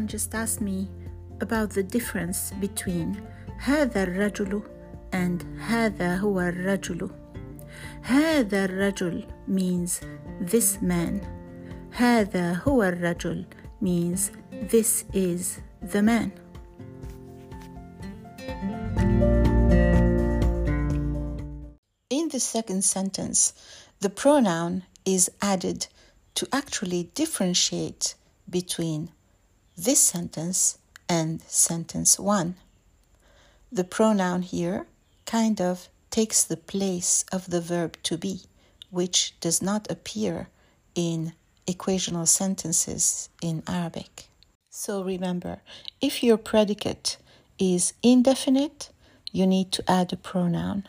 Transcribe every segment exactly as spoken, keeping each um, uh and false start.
Someone just asked me about the difference between هذا الرجل and هذا هو الرجل. هذا الرجل means this man. هذا هو الرجل means this is the man. In the second sentence, the pronoun is added to actually differentiate between this sentence and sentence one. The pronoun here kind of takes the place of the verb to be, which does not appear in equational sentences in Arabic. So remember, if your predicate is indefinite, you need to add a pronoun.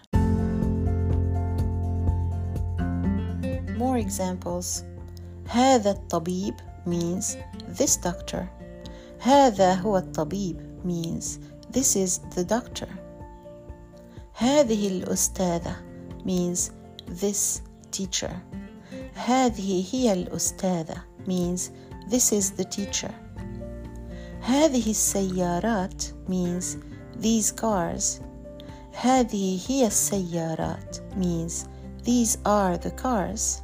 More examples. هذا الطبيب means this doctor. هذا هو الطبيب means this is the doctor. هذه الأستاذة means this teacher. هذه هي الأستاذة means this is the teacher. هذه السيارات means these cars. هذه هي السيارات means these are the cars.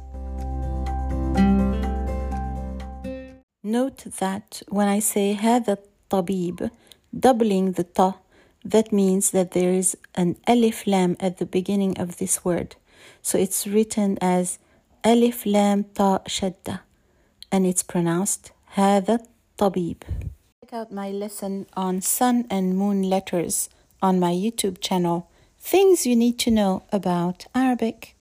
Note that when I say هذا الطبيب, doubling the ta, that means that there is an alif lam at the beginning of this word. So it's written as alif lam ta shadda, and it's pronounced هذا الطبيب. Check out my lesson on sun and moon letters on my YouTube channel. Things you need to know about Arabic.